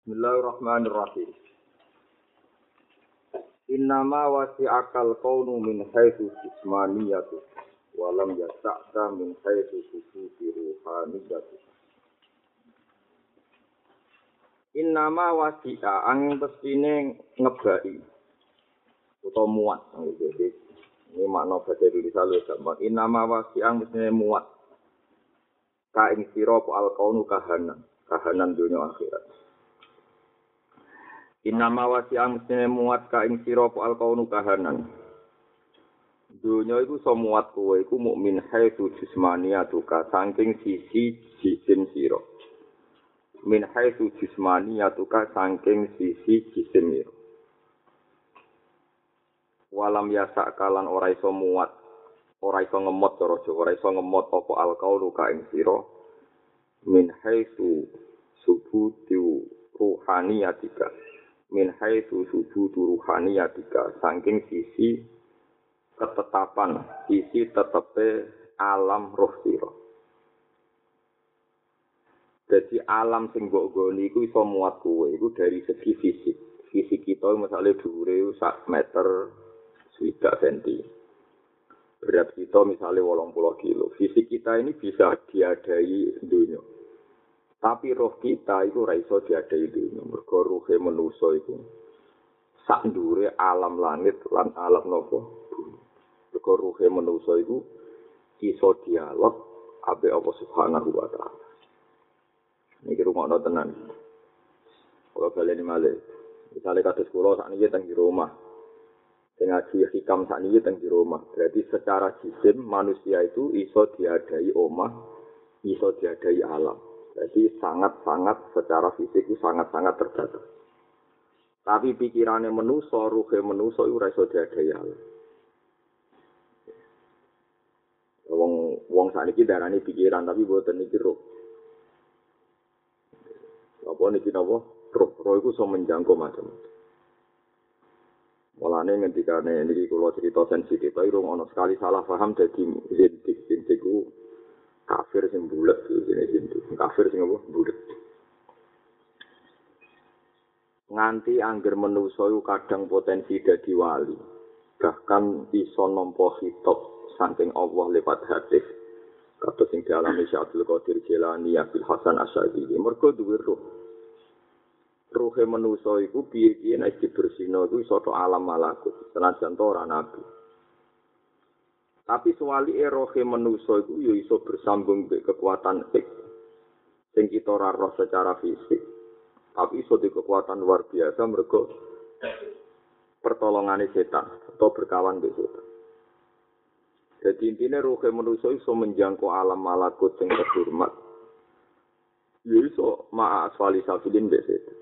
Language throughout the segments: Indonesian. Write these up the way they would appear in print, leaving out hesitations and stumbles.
Bismillahirrahmanirrahim. Innama wasi'akal kaunu min haitsu jismaniyatu wa lam yasa'ka min haitsu sufufi ruhaniyatu. Innama wasi'a angin pestine ngebaki utawa muat. Jadi ini makna bahasa Indonesia luwih gampang. Innama wasi'a mestine muat. Ka ing sira al kaunu kahanan dunya akhirat. Innama wasi'ang mestine muat ka ing sira al kaunu kahanan. Dunya iku iso muat kowe iku mukmin haitsu jismaniyatu ka saking sisi jisim sira. Min haitsu jismaniyatu ka saking sisi jisim sira. Walam yasak kalan ora iso muat, ora iso ngemot cara Jawa, ora iso ngemot apa al kaunu ka ing sira. Min haitsu subutu ruhaniyatika. Min haitsu subutu ruhaniyatika saking sisi ketetapan, sisi tetepe alam roh sira. Jadi alam sing mbok goni iku iso muat kowe iku dari segi fisik. Fisik kita misalnya dhuwure 1 meter 1 cm. Berat kita misalnya 80 kilo. Fisik kita ini bisa diadai dunia. Tapi roh kita itu ora iso diadai dunia. Mergo ruhe manusa iku sak ndure alam langit lan alam napa bumi. Mergo ruhe manusa iku iso dialog ambek Allah Subhanahu wa taala. Niki rumakno tenan. Kalau baleni malih. Misale kados kula sakniki teng di rumah. Sing ngaji hikam sakniki teng di rumah. Berarti secara jisim manusia itu iso diadai omah, iso diadai alam. Jadi sangat-sangat secara fisik itu sangat-sangat terbatas. Tapi pikirannya manusa, ruhe manusa itu ora iso diadai alam. Wong sakniki darani pikiran tapi mboten niki ruh. Apa niki napa? Roh iku iso menjangkau macam-macam. Mulane ngendikane niki kula cerita sensitif, tapi rung ana sekali salah paham dadi zindik ku kafir sing bulet jenenge kafir sing apa bulet. Nganti angger manusa iku kadang potensi dadi wali. Bahkan iso nampa hitop saking Allah lewat hadis. Kados sing dialami Syekh Abdul Qadir Jilani, Abdul Hasan Asy'ari. Mergo duwe roh. Ruhe manusa iku piye-piye nek dibersihno iku iso tok alam malakut, senajan to ora nabi. Tapi suwalike rohe manusa iku ya iso bersambung mbek kekuatan sing kita ora roh secara fisik. Tapi iso di kekuatan luar biasa mergo pertolongane setan atau berkawan mbek setan. Jadi intine rohe manusa iso menjangkau alam malakut sing terhormat. Ya iso ma'a asfali safilin mbek setan.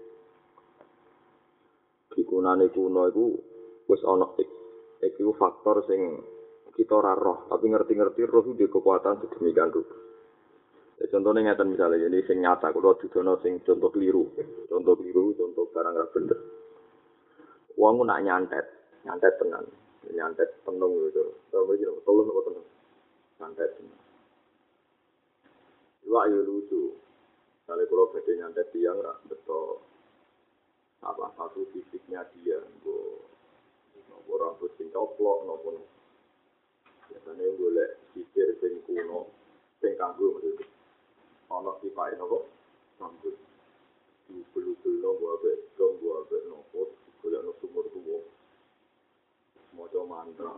Dikunane kuno iku wis ana iku faktor sing kita ora roh, tapi ngerti-ngerti roh itu kekuatan sedemikian rupa. Ya, contohnya ngeten misalnya ini sing nyata kula dudono sing contoh keliru, contoh barang ra bener. Wong nak nyantet tenan, nyantet penung gitu. Terus iki tolong kok tenan. Nyantet. Iwak yo lucu. Kali kula badhe nyantet tiyang ra beto apa satu fisiknya dia, nopo rambut sing coplok, nopo biasanya golek sisir sing kuno, sing kanggo maksudnya. Ono sifate nopo rambut, bulu-bulu gua abe, dong gua abe nopo, golek no sumur tuwa, moco mantra.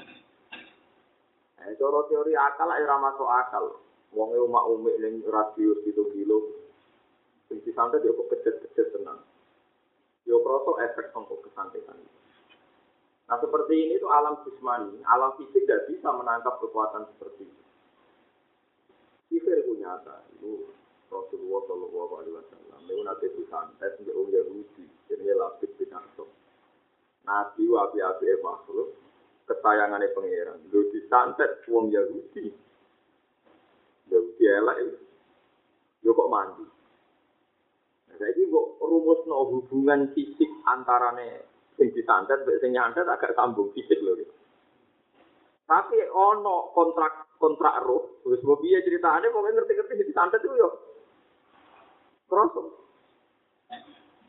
Cara teori akal ora masuk akal. Wong e omak umik ning radius 7 kilo, sing disantet yo kok kecet-kecet tenan. Yo kroso efek sangko kesantekan. Nah seperti ini itu alam jismani, alam fisik tidak bisa menangkap kekuatan seperti itu. Sifir itu nyata, itu Rasulullah Shallallahu Alaihi Wasallam. Itu nanti disantet untuk orang Yahudi, jadi lapis binatang. Nabi wapi-wapi makhluk, kesayangannya pangeran. Lu disantet orang Yahudi, Yahudi elak itu, yo kok mandi. Jadi rumusno hubungan fisik antarane sing disantet mbek sing nyantet agak sambung fisik lho. Tapi ono kontrak roh, wis mbok piye critane pokoke ngerti-ngerti disantet ku yo. Terus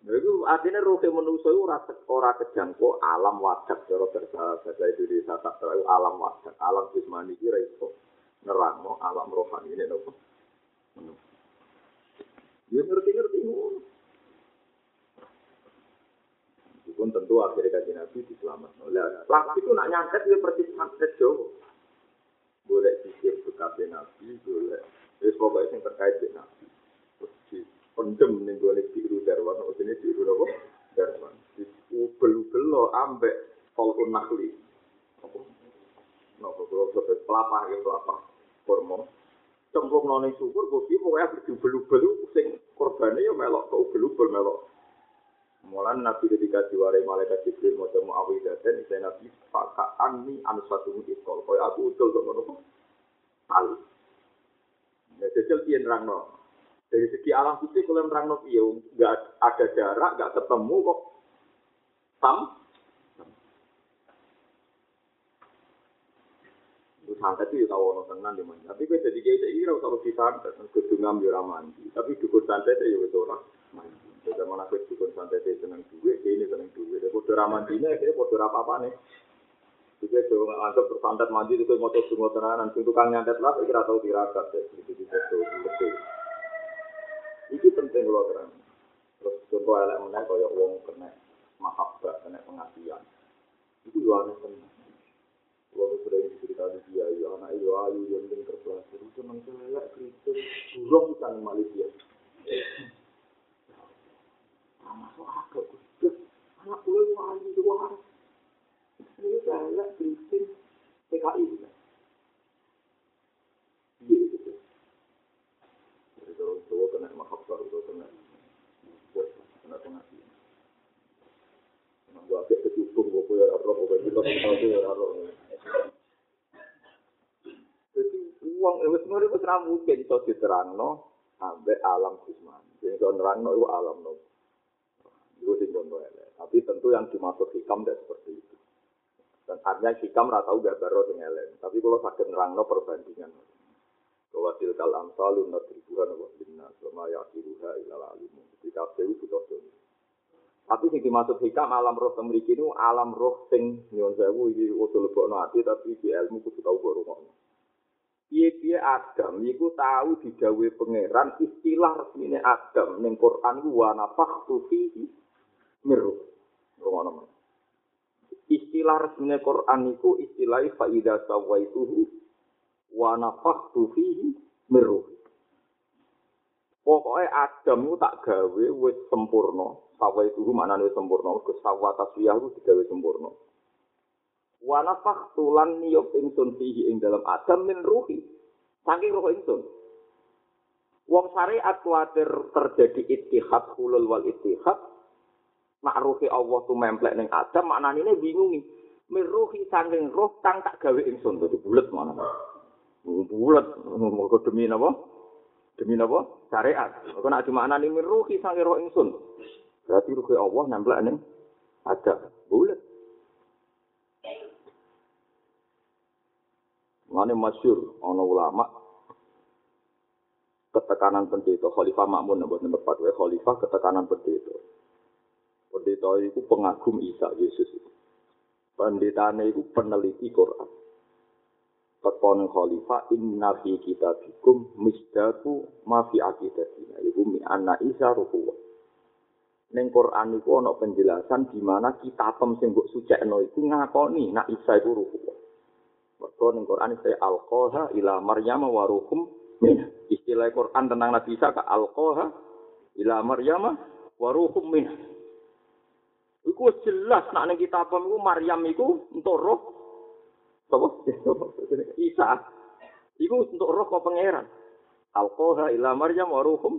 Itu artinya roh manusia itu ora kejangkau alam wadak cara bahasa Indonesia tak tahu alam wadak, alam jasmani iki ra iso nerangno alam rohani ini nopo. Ya ngerti-ngerti ngono. Pun tentu akhirnya kaji Nabi diselamatkan. Lah itu nak nyantet dia persis nyantet Jawa. Boleh sisir BKP Nabi, boleh. Terus pokoknya yang terkait dengan Nabi. Terus dipendem nih boleh biru darwan. Oh ini biru apa? Darwan. Ubel-ubel lo ambek kolkun nakli. Apa? Nopo kalau sampai pelapah ya pelapah. Hormon. Cemplung noning syukur, gue pokoknya berubel-ubel itu sing korbannya ya melok ke ubel-ubel melok. Mulan Nabi ketika diwarai malaikat Jibril mau Muawwidatan, saya Nabi pakaan ni anusatu mutitol. Kau aku utul ke mana pun, al. Ya jajal pian rangno. Dari segi alam fisik kalau rangno piye, nggak ada jarak, nggak ketemu kok. Santet itu tahu orang tenan di mana. Tapi kita jadi kayak ini rasa lebih santet, kedungam di mandi. Tapi dukun santet itu ya orang mandi. Zaman aku dukun santet itu seneng duit, ini seneng duit. Dia bodoh ramandinya, dia bodoh apa nih? Juga jangan anggap bersantet mandi itu motor semua tenanan. Untuk tukang nyantet lah, kira tahu tirakat. Itu betul. Itu penting kalau terang. Terus contoh elemennya kayak uang kena mahabbah, kena pengasihan. Itu juga aneh tenang. Kalau sudah cerita di dia, ya anak ayu yang terpelajar itu nanti lelak Kristen, burung bukan Malaysia. Masuk akal, anak pulau ayu luar. Ini lelak Kristen PKI bukan? Iya gitu. Jadi kalau tua kena mahabbah, itu kena pengajian. Gua agak kecupung, gua punya roh, gua kita tahu ya roh. Jadi uang itu sebenarnya itu serang mungkin itu diterangno sampai alam jasmani. Jadi kalau nerangno itu alam no. Itu sih contoh ya. Tapi tentu yang dimaksud hikam tidak seperti itu. Dan artinya hikam rata udah baru dengan lain. Tapi kalau sakit nerangno perbandingan. Bahwa tilkal amsalun nadribuhan wa binnas wa ma yaqiluha ilal alim. Ketika itu butuh contoh. Tapi sing dimaksud hikam alam roh temriki itu alam roh sing nyon sewu iki usul lebokno ati tapi di ilmu kudu tau kok rungokno. Piye-piye Adam iku tahu didhawuhi pangeran istilah resmine Adam ning Quran wa nafakhtu fihi miru. Rungokno. Istilah resmine Quran iku istilah fa idza sawaituhu wa nafakhtu fihi miru. Pokoknya Adam itu tak gawe wis sempurna. Sawa itu maknane wis sempurna. Sawa taswiyah itu digawe sempurna. Wa nafakhtu lan niyop ingsun fihi ing dalam Adam min ruhi. Saking roh ingsun. Wong syariat kuwatir terjadi ittihad hulul wal ittihad. Makruhi Allah tu memplek ning Adam maknane bingungi. Min ruhi saking roh kang tak gawe ingsun. Dadi bulet maknane. Bulet mergo demi napa? Demi napa? Syariat. Kok nek dimaknani min ruhi sange roh ingsun. Berarti ruhi Allah nempel ning ada. Bulet. Mane masyhur ana ulama ketekanan pendeta Khalifah Makmun mboten tepat wae Khalifah ketekanan pendeta. Pendeta itu pengagum Isa Yesus. Pendetane itu peneliti Quran. Tekon khalifah inna fi kitabikum misdaqu ma fi aqidatina iku mi anna isa ruhu. Ning Quran iku ana penjelasan di mana kitabem sing mbok sucekno iku ngakoni nek Isa iku ruhu. Mergo ning Quran saya alqaha ila Maryam wa ruhum min. Istilah Quran tentang Nabi Isa ka alqaha ila Maryam wa ruhum min. Iku jelas nek ning kitabem iku Maryam iku entuk roh apa? Isa. Iku untuk roh kok pangeran. Alqaha ila Maryam wa ruhum.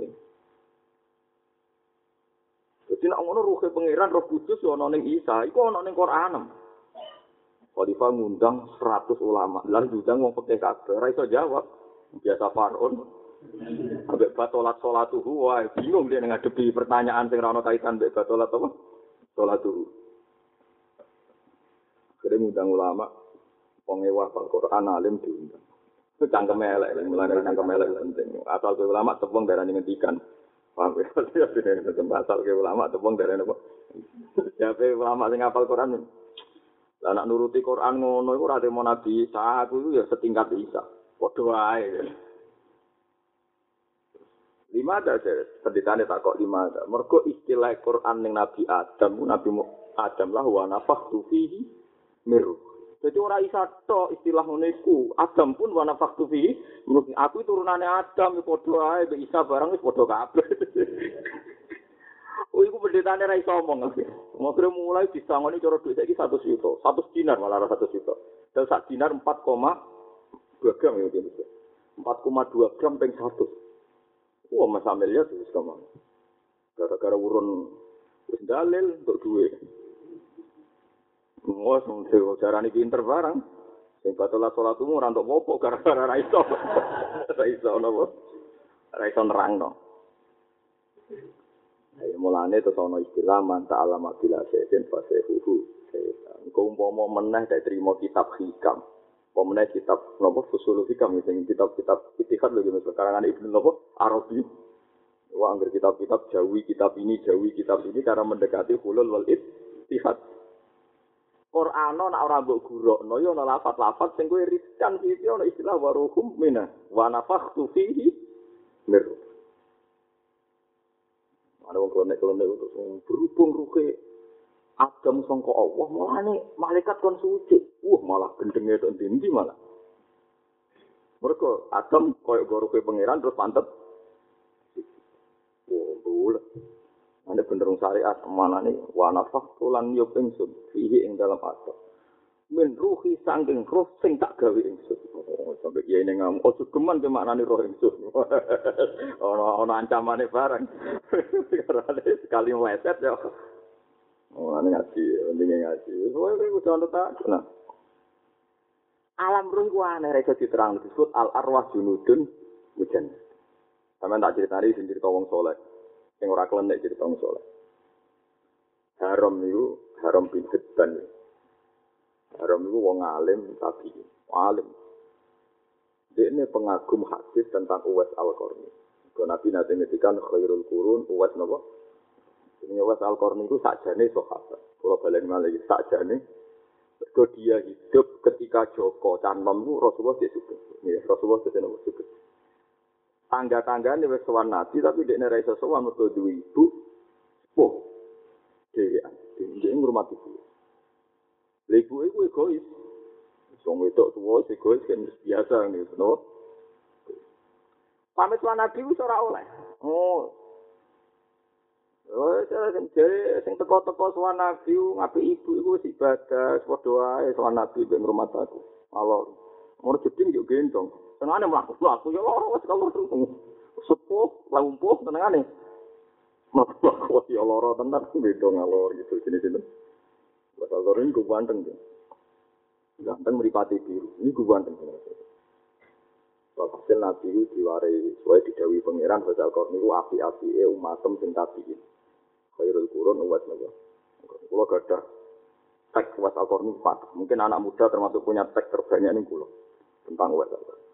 Jadi nek ngono ruhe pangeran roh kudus yo ana ning Isa, iku ana ning Quran. Khalifah ngundang 100 ulama. Lah diundang wong pekeh kabeh, ora iso jawab. Biasa Faraun. Ambek batolat salatuhu, wah bingung dia ngadepi pertanyaan sing ora ana kaitan mbek batolat apa? Salatuhu. Kene ngundang ulama pengewa Al-Quran alim diundang. Itu cangkem elek, mulai dari cangkem elek penting. Asal ulama tepung darah ngendikan. Paham ya? Ya dene pasal ke ulama tepung dari apa? Jape ulama sing hafal Quran. Lah nak nuruti Quran ngono iku ora temo Nabi Isa, aku iku ya setingkat Isa. Padha wae. Lima ada pendetane takok lima ada. Mergo istilah Quran ning Nabi Adam, Nabi Adam lah wa nafakhtu fihi mir. Jadi ora isa tok istilah ngono iku. Adam pun wa nafakhtu fihi, menurut aku turunane Adam ya padha wae mbek Isa barang wis padha kabeh. Oh iku pendetane ra iso omong. Ngokre mulai disangoni cara duit saiki 100 juta. 100 dinar malah 100 juta. Dan sak dinar 4,2 gram ya gitu. 4,2 gram ping 100. Wah, Mas Amel ya wis kamu. Gara-gara urun wis dalil untuk duit. Wah, sing jarane pinter barang. Sing batola salatmu ora entuk apa gara-gara ra iso. Ra iso napa? Ra iso nerangno. Ayo mulane terus ana istilah manta alamat bila sesen fasehuhu. Engko umpama meneh dak trimo kitab hikam. Pemenang kitab napa fusul hikam sing kitab-kitab itikad lho karangan Ibnu napa Arabi. Wah angger kitab-kitab jawi kitab ini karena mendekati hulul wal ittihad. Quran ana ora mbok gurukno ya ana lafaz-lafaz sing kowe riskan iki ana istilah waruhum mina wa nafakhtu fihi mir. Ada wong klonek-klonek berhubung ruhe Adam sangka Allah mulane malaikat kon suci. Malah gendenge tok ndi malah. Mergo Adam koyo goruhe pangeran terus pantet. Boleh. Ane bener syariat manane wa nafakhtu lan yub ingsun fihi ing dalam Adam. Min ruhi sangking roh sing tak gawe ingsun. Sampai kiai ning ngam ojo geman ke maknane roh ingsun. Ana ancamane bareng. Karena sekali meleset ya. Ane ngaji, pentingnya ngaji. Soale kuwi kudu tak. Nah. Alam roh ku aneh rek diterang disebut al arwah junudun mujan. Sampeyan tak critani sing cerita wong saleh. Sing ora klenek cerita wong saleh. Haram niku haram bin Hibban. Haram itu wong alim tapi alim. Dia ini pengagum hadis tentang Uwais Al-Qarni. Kalau Nabi nanti ngetikan khairul qurun Uwais napa? Ini Uwais Al-Qarni itu sakjane sahabat. Kalau balen malih sakjane mergo dia hidup ketika Joko Canom itu Rasulullah dia sugih. Ya, Rasulullah dia napa sugih. Tangga-tanggane wis sowan Nabi tapi dekne ra iso sowan mergo duwe ibu. Oh. Dia ngurmati ibu. Ibu itu egois. Wong wedok tuwa egois kan biasa ngene, no. Pamit lan Nabi wis ora oleh. Sing teko-teko sowan Nabi ngapik ibu iku wis ibadah, padha wae sowan Nabi mek ngrumat aku. Allah. Ora jeding yo gendong. Senengane mlaku ya ora wis kalau sepuh, lumpuh senengane. Mlaku ya lara tenan gendong ngalor gitu jenis-jenis. Bahasa Korea ini gue ganteng ya. Ganteng meripati biru. Ini gue ganteng. Hasil Nabi itu diwarai. Soalnya didawi pangeran bahasa Korea ini api-api umatem sing tabiin. Khairul qurun uwais naga. Kalau gak ada teks uwais Al-Qarni ini patah. Mungkin anak muda termasuk punya teks terbanyak ini kulo. Tentang uwais Al-Qarni.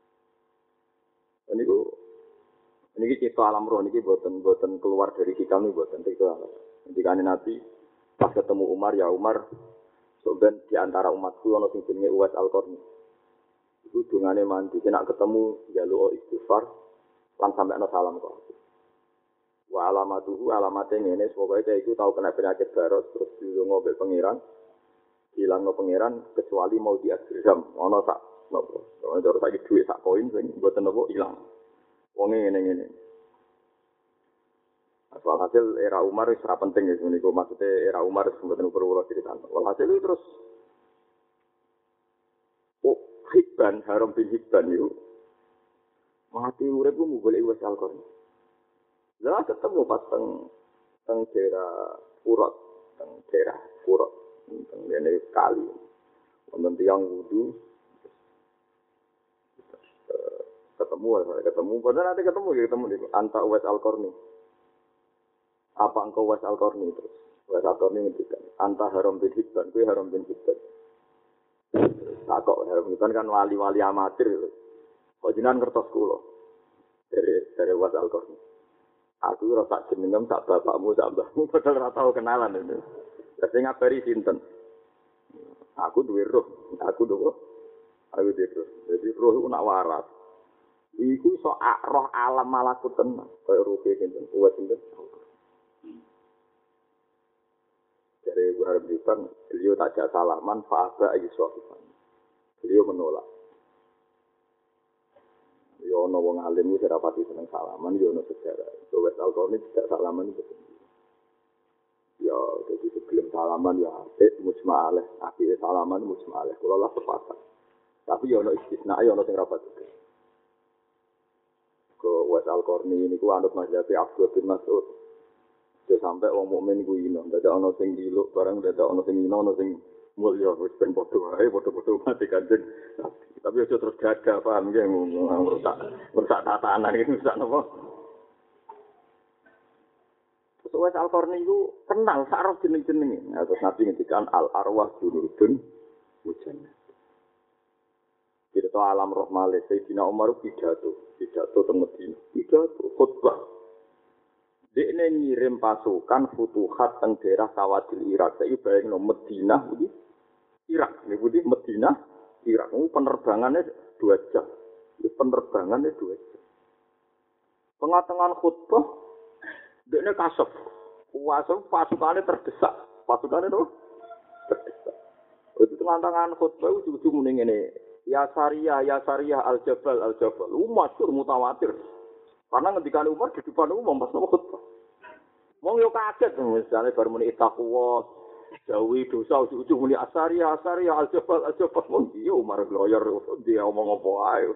Ini cerita alam roh. Ini buatan keluar dari hikam ini buatan cerita alam. Ketika Nabi pas ketemu Umar, ya Umar, sebenarnya di antara umatku ono sing jenenge Uwais Al-Qarni. Iku dungane mandi, nek ketemu njaluk istighfar lan sampe ana salam kok. Wa alamatuhu alamate ngene, pokoke iku tau kena penyakit baros terus dilungo mbek pangeran. Hilangno pangeran kecuali mau diadram, ono sak napa. Ono terus saiki dhuwit sak koin sing mboten napa ilang. Wonge ngene-ngene. Walhasil era Umar itu sangat penting ya, maksudnya era Umar itu sebetulnya perlu cerita. Walhasil itu terus, Hibban, Haram bin Hibban itu, mati urip itu boleh Uwais Al-Qarni. Lah ketemu pas teng daerah Furat, teng ini kali, wonten tiyang wudu, ketemu, padahal nanti ketemu di antara Uwais Al-Qarni. Apa engkau Uwais Al-Qarni terus? Uwais Al-Qarni ngendikan, anta Haram bin Hibban, kuwi Haram bin Hibban. Takok Haram bin Hibban kan wali-wali amatir. Kok jenengan ngertos kula dari Uwais Al-Qarni. Aku ora tak jenengem sak bapakmu sak mbahmu padahal ora tau kenalan itu. Lah sing ngabari sinten? Aku duwe roh, aku duwe aku duwe roh. Jadi roh iku nak waras. Iku iso roh alam malakut tenan, kaya roh sinten, kuat sinten. Dari Ibu Harbipan, beliau tak ada salaman, fa'aba ayyuswafifan. Beliau menolak. Ya ana wong alim iki ora pati seneng salaman, ya ana sejarah. Wes Al-Qarni tidak salaman itu. Ya jadi sebelum salaman ya apik mujma'aleh, apike salaman mujma'aleh. Kula lah sepakat. Tapi ya ana istisna, ya ana sing ra pati. Ko Wes Al-Qarni niku anut mazhab Abdul bin Mas'ud. Jadi sampai wong mukmin iku ino, dadak ana sing diluk barang dadak ana sing ino, ana sing mulya wis ben padha wae, padha-padha mati Kanjeng. Tapi aja terus gagah paham nggih merusak tatanan iki merusak napa. Wes Al-Qarni iku kenal sak roh jeneng-jenenge. Terus Nabi ngendikan al arwah junudun mujannah. Kita alam roh malih Sayyidina Umar pidato teng Madinah. Pidato khutbah. Dia ngirim pasukan futuhat teng daerah Sawadil Irak. Saya bayangin Madinah ini Irak. Ini putih Madinah Irak. Penerbangannya 2 jam. Penerbangannya 2 jam. Tengah-tengah khutbah, dia kasep. Pasukannya terdesak. Pasukannya itu terdesak. Itu tengah-tengah khutbah, ujung-ujung ini. Ya Sariyah al-Jabal. Masyhur mutawatir. Karena ketika Umar di depan umum pas nama khutbah. Wong yo kaget misalnya baru muni taqwa, jauhi dosa ujung-ujung muni asariya al-jabal wong iya Umar lawyer dia omong apa ae.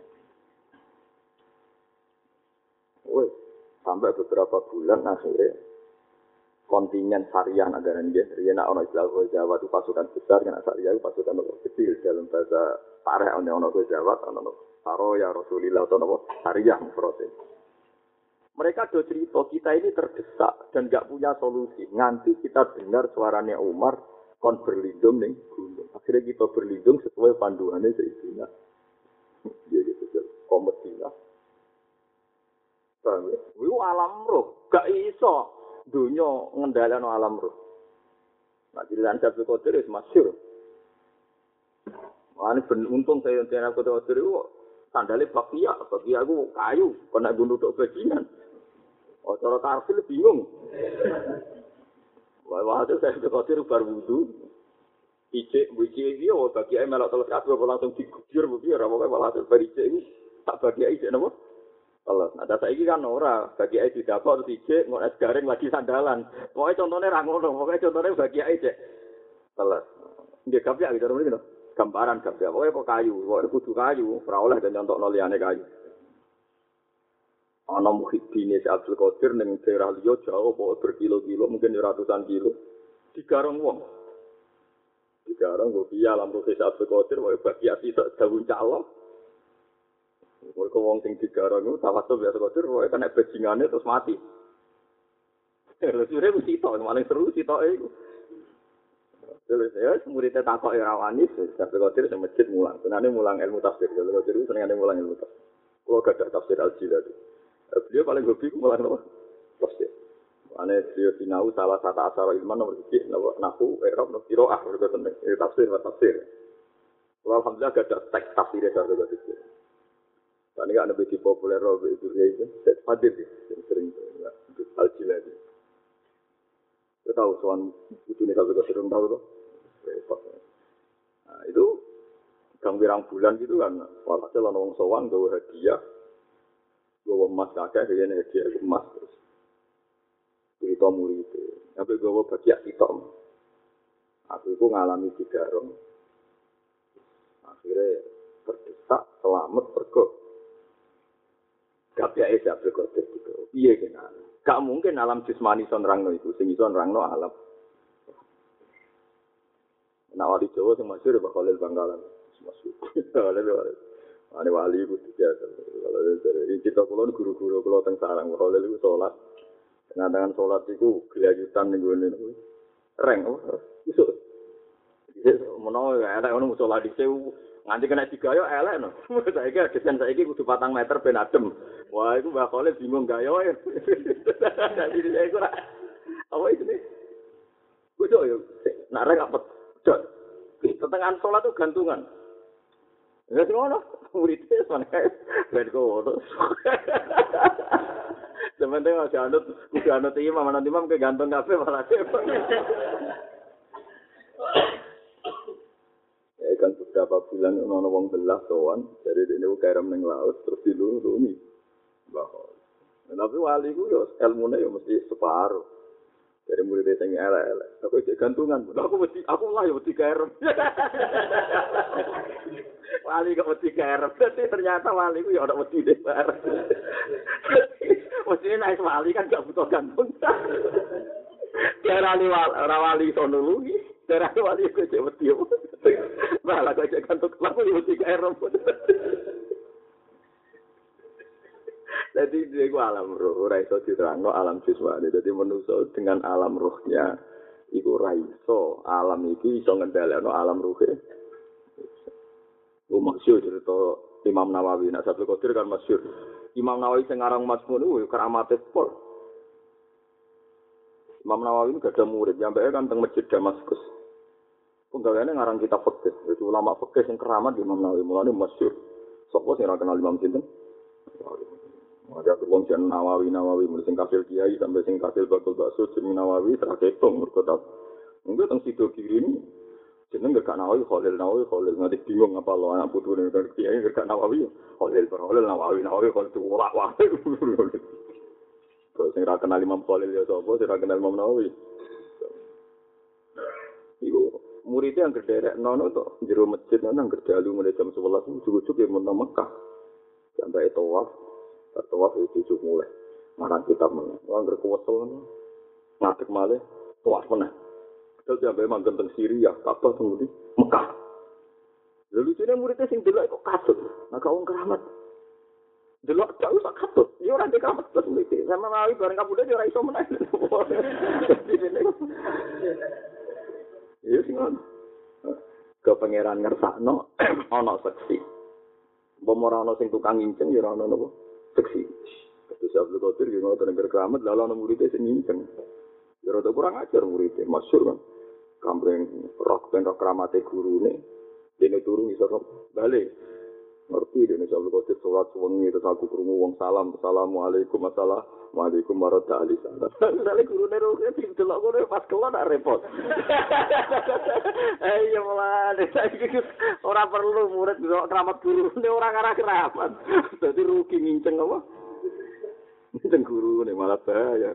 Wes sampai beberapa bulan akhirnya kontingen Syariah negara dia, nak ono istilah Jawa itu pasukan besar, kan Syariah itu pasukan kecil dalam bahasa tarikh ono Jawa, ono Saro ya Rasulillah atau ono Syariah proses. Mereka do cerita kita ini terdesak dan nggak punya solusi. Nanti kita dengar suaranya Umar kon berlindung ning gunung. Akhirnya kita berlindung sesuai panduannya Sayyidina. Jadi itu komedilah. Paham ya? Itu alam roh, gak iso dunia ngendalano alam roh. Nah, di dalam Abdul Qadir itu masyhur. Wah, ini untung saya yang Abdul Qadir itu sandalnya bakia itu kayu, kena gunung untuk bajingan. Oh, cara tarfil bingung. Wah, itu saya Abdul Qadir bar wudu. Ijek iki oh bakia melok telus kabeh langsung diguyur piye ora pokoke malah ijek iki tak bakia ijek napa? Allah. Nah, saiki kan ora, bagi ae didapuk terus ijek ngok es garing lagi sandalan. Pokoke contone ra ngono, pokoke contone bagi ae ijek. Allah. Nggih kapya gitu mriki lho. Gambaran kapya. Pokoke kok kayu, pokoke kudu kayu, ora oleh den nyontokno liyane kayu. Ana muhibine Abdul Qadir ning daerah liya jauh pokoke berkilo-kilo, mungkin ratusan kilo. Digarong wong. Digarong kok piye alam roh Abdul Qadir pokoke bagi ati sak dawuh calon. Mereka wong sing digarang itu tawasul biasa kotor, pokoknya kena bajingannya terus mati. Terus itu sitok, maling seru sitok itu. Terus ya, muridnya takok Irawanis, sampai kotor sama masjid mulang. Senangnya mulang ilmu tafsir, kalau kotor itu senangnya mulang ilmu tafsir. Kalau gak ada tafsir Al-Jilad. Beliau paling hobi mulang apa? Tafsir. Karena beliau sinau salah satu asal ilman nomor 1, nahu, i'rab, kiroah, tafsir. Kalau alhamdulillah gak ada teks tafsirnya dari kotor. Ini kan lebih populer itu itu hadir sering Al-Jilad. Kita tahu soal itu nih kalau kita sering tahu tuh. Nah, itu gang pirang bulan gitu kan, walhasil orang sowan gawe hadiah, gawe emas kakek, dia hadiah emas terus. Cerita murid itu, sampai gawe bagian hitam. Aku itu ngalami digarong. Akhirnya terdesak, selamat, pergi. Gak biasa Abdul Qadir gitu. Iya kena. Gak mungkin alam jismani son rangno itu, sing iso rangno alam. Nah wali Jawa sing masyhur Pak Khalil Bangkalan. Masyhur. Ane wali itu biasa. Kalau dari kita kula guru-guru kula teng sarang Khalil itu salat. Dengan salat itu gelayutan ning ngene niku. Reng iso. Menawa ana ono salat dhisik Nganti kena digayo elek no. Saiki desain saiki kudu 4 meter ben adem. Wah, iku Mbah Khalil bingung gayoe. Dadi saya iku apa itu nih? Kudu yo nak rek apa? Tetengan salat tuh gantungan. Ya sing ngono, muridé sana ben kono. Sementara masih anut, kudu anut imam, anut imam ke gantung kafe malah cepet. Ya kan beberapa bulan ono wong belah sowan, dari dene kerem ning laut terus dilurumi. Bahwa. Tapi wali ku yo ilmune yo mesti separuh. Dari murid sing elek-elek. Aku cek gantungan. Aku lah yo mesti kerem. Wali kok mesti kerem. Ternyata wali ku yo ora mesti debar. Mesti nek wali kan gak butuh gantung. Darani wali sono lugi. Darani wali kok cek mesti. Malah kok cek gantung aku yo mesti kerem. Jadi dia alam roh, ora iso diterangno alam jasmani. Jadi manusia dengan alam rohnya, iku ora iso alam iki iso ngendhalekno alam rohe. Masyhur cerita Imam Nawawi, nak Abdul Qadir kan masyhur. Imam Nawawi sing aran Mazmun iku keramate pol. Imam Nawawi gak ada murid, nyampe kan teng Masjid Damaskus. Penggaweane ngarang kitab fikih. Itu ulama fikih sing keramat Imam Nawawi, mulane masyhur. Sapa sing ora kenal Imam sinten? Ada wong jan Nawawi sing kasil kiai sampai sing kasil bakul bakso jeneng Nawawi teraketung mergo tak. Mungkin teng sido kiri ini jeneng gak Nawawi Khalil nganti bingung apa lo anak putune kan kiai gak Nawawi Khalil Nawawi Khalil ora wae. Terus sing ra kenal Imam Khalil ya sapa sing ra kenal Imam Nawawi. Iku muridnya yang gederek nono to jero masjid nang gerdalu mulai jam 11 ujug-ujug ya mun Mekah. Sampai tawaf itu mulai marang kitab meneh. Wong ngrekowesel ngadeg malih tawaf meneh. Terus sampai manggon teng Syria, Ka'bah teng Mekah. Lalu lucunya muridnya sing delok kok kasut. Nah wong keramat. Delok jauh sak kasut. Ya ora ndek keramat terus mriki. Sama Nawawi bareng kabudhe ora iso meneh. Ya sing ngono. Ke pangeran ngersakno ana seksi. Mbok ora ana sing tukang nginceng ya ora ana napa. Seksi. Terus Abdul Qadir ki ngono tenan keramat lalu ana muridé sing nginceng. Ya rada kurang ajar muridé, masyhur kan. Kampreng rok ben keramate gurune. Dene turu iso bali. Ngerti dene Abdul Qadir salat wengi terus aku krungu wong salam, assalamualaikum waalaikum warahmatullahi wabarakatuh. Sale gurune roke didelok kono pas kelon tak repot. Iya malah saiki ora perlu murid delok keramat gurune ora ngarah keramat. Dadi rugi nginceng apa? Nginceng gurune malah bahaya.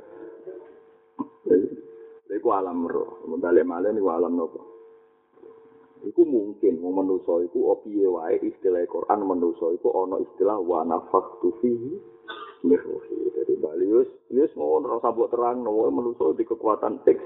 Iku alam roh, balik-balik niku alam nopo? Iku mungkin wong manusa iku piye wae istilah Quran manusa iku ana istilah wa nafakhtu fihi min ruhi. Dadi bali wis ngono ora sabuk terangno manusa di kekuatan teks.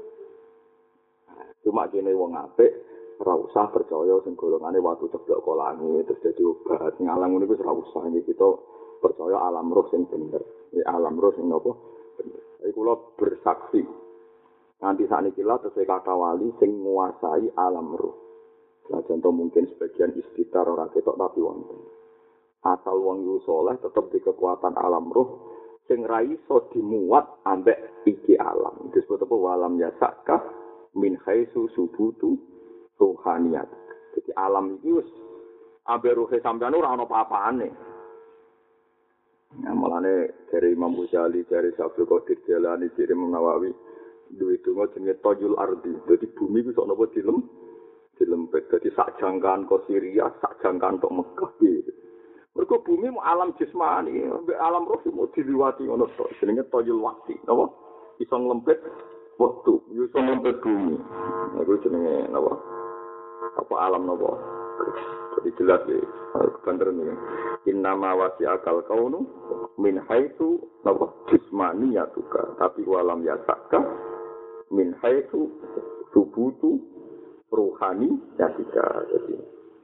Cuma kene wong apik ora usah percaya sing golongane watu ceblok kok langit terus dadi obat ngalang ngono iku ora usah iki kita percaya alam roh sing bener. Alam roh sing napa? Bener. Iku kula bersaksi nanti saat ini lah terus kata wali sing menguasai alam roh. Nah contoh mungkin sebagian istighfar orang ketok tapi wonten. Asal wong yu saleh tetep di kekuatan alam roh sing ra iso dimuat ambek iki alam. Disebut apa walam yasaka min haitsu subutu ruhaniyat. Jadi alam iki wis ambek rohe sampeyan ora ana apa-apane. Nah mulane dari Imam Ghazali, dari Abdul Qadir Jailani, dari Imam Nawawi duwe donga jenenge Tajul Ardi. Dadi bumi ku sok napa dilempet. Dadi sak jangkaan ke Syria, sak jangkaan tok Mekah iki. Mergo bumi mu alam jasmani, alam roh mu diliwati ngono tok. Jenenge Tajul Waqti, napa? Iso nglempet wektu, iso nglempet bumi. Iku jenenge napa? Apa alam napa? Jadi jelas ya, kebanteran ini. Innama wasi'akal kaunu min haitsu napa? Jismaniyatuka, tapi walam yasaka min haitsu subutu ruhani yatika. Jadi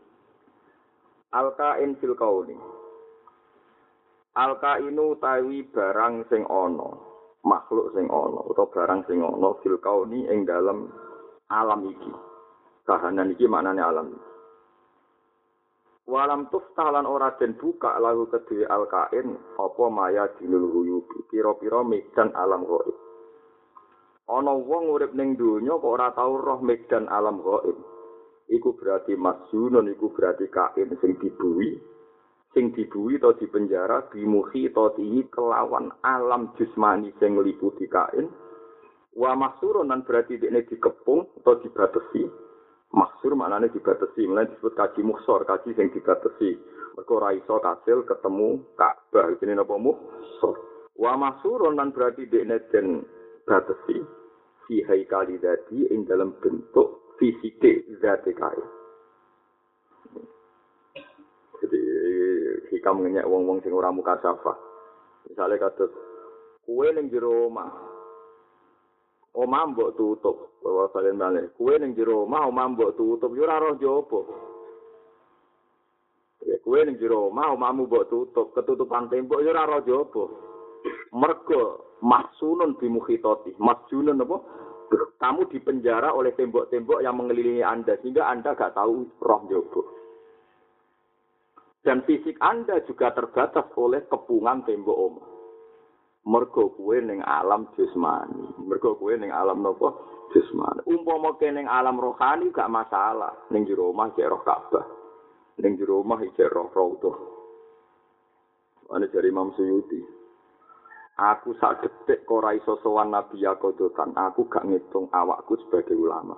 alkain fil kauni, alkainu tawi barang sing ana, makhluk sing ana utawa barang sing ana fil kauni ing dalam alam iki. Kahanan iki maknane alam. Walam tuftalan ora den buka lahu kedue alkain apa maya dinul huyubi pira-pira medan alam gaib. Ana wong urip ning donya kok ora tau roh medan alam gaib. Iku berarti masjunun iku berarti kain sing dibuwi atau dipenjara bimuhi atau kelawan alam jusmani sing ngliputi kain. Wa maksurun nan berarti dekne dikepung atau dibatasi. Maksur maknane dibatasi, mulane disebut kaji muksor, kaji sing dibatasi. Mergo ora iso kasil ketemu Ka'bah, jenenge napa muksor. Wa maksurun nan berarti dekne den batasi fi haikali dadi ing dalam bentuk fisike zate kain. Jadi hikam ngenyek wong-wong sing ora mukasafah. Misale kados kuwe ning jero omah mbok tutup, bawa kalian balik. Kue ning jero omah mbok tutup, yo ora roh jopo. Ya kue ning jero omah omahmu mbok tutup, ketutupan tembok yo ora roh jopo. Mergo mahsunun bimukhitati. Mahsunun apa? Kamu dipenjara oleh tembok-tembok yang mengelilingi Anda sehingga Anda gak tahu roh jopo. Dan fisik Anda juga terbatas oleh kepungan tembok omah. Mergo kuwe ning alam jasmani. Mergo kuwe ning alam napa? Jasmani. Umpama kene ning alam rohani gak masalah. Ning jero omah cek roh Ka'bah. Ning jero omah cek roh Raudhah. Ana dari Imam Suyuti. Aku sak detik kok ora iso sowan Nabi Yakodotan. Aku gak ngitung awakku sebagai ulama.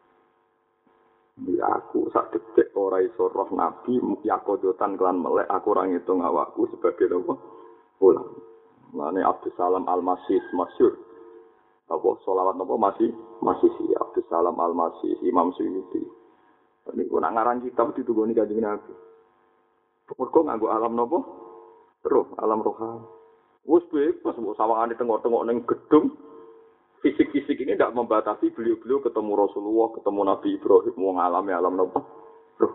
Aku sak detik ora iso roh Nabi Yakodotan kelan melek. Aku ora ngitung awakku sebagai ulama. Mane Abdus Salam Al-Masih masyhur. Apa selawat napa masih si Abdus Salam Al-Masih Imam Suyuti. Niku nak ngarang kitab ditugoni Kanjeng Nabi. Mergo nganggo alam napa? Roh, alam rohani. Wes bebas mbok sawangane tengok-tengok ning gedung. Fisik-fisik ini tidak membatasi beliau-beliau ketemu Rasulullah, ketemu Nabi Ibrahim, wong alami alam napa? Roh.